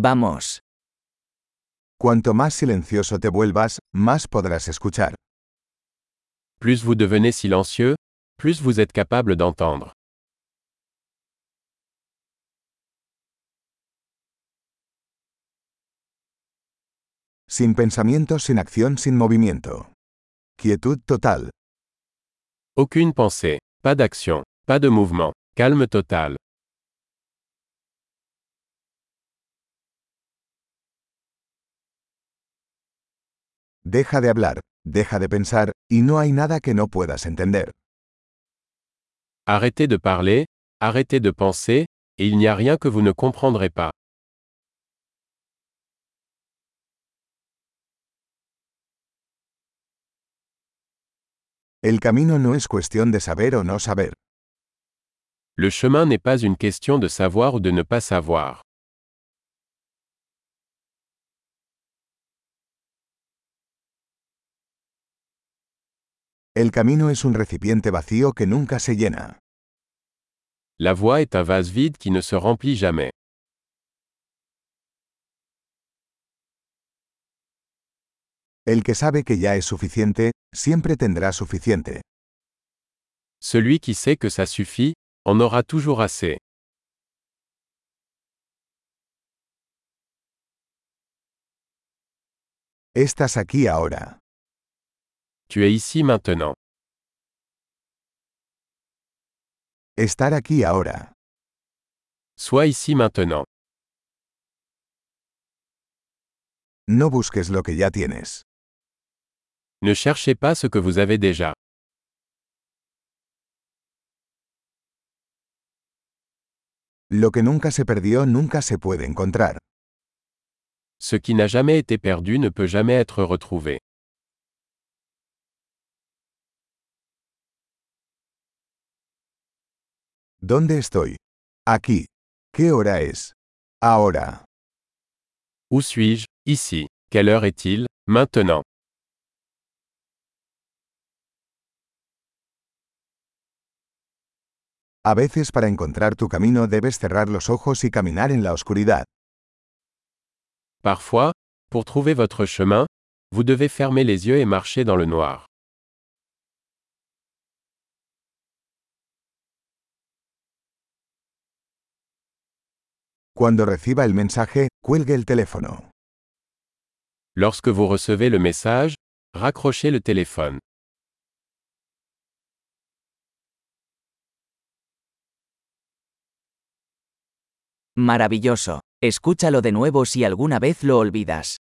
Vamos. Cuanto más silencioso te vuelvas, más podrás escuchar. Plus vous devenez silencieux, plus vous êtes capable d'entendre. Sin pensamiento, sin acción, sin movimiento. Quietud total. Aucune pensée, pas d'action, pas de mouvement, calme total. Deja de hablar, deja de pensar, y no hay nada que no puedas entender. Arrêtez de parler, arrêtez de penser, et il n'y a rien que vous ne comprendrez pas. El camino no es cuestión de saber o no saber. Le chemin n'est pas une question de savoir ou de ne pas savoir. El camino es un recipiente vacío que nunca se llena. La voie est un vase vide qui ne se remplit jamais. El que sabe que ya es suficiente, siempre tendrá suficiente. Celui qui sait que ça suffit, en aura toujours assez. Estás aquí ahora. Tu es ici maintenant. Estar aquí ahora. Sois ici maintenant. No busques lo que ya tienes. Ne cherchez pas ce que vous avez déjà. Lo que nunca se perdió nunca se puede encontrar. Ce qui n'a jamais été perdu ne peut jamais être retrouvé. ¿Dónde estoy? Aquí. ¿Qué hora es? Ahora. Où suis-je? Ici. Quelle heure est-il? Maintenant. A veces para encontrar tu camino debes cerrar los ojos y caminar en la oscuridad. Parfois, pour trouver votre chemin, vous devez fermer les yeux et marcher dans le noir. Cuando reciba el mensaje, cuelgue el teléfono. Lorsque vous recevez le message, raccrochez le téléphone. Maravilloso. Escúchalo de nuevo si alguna vez lo olvidas.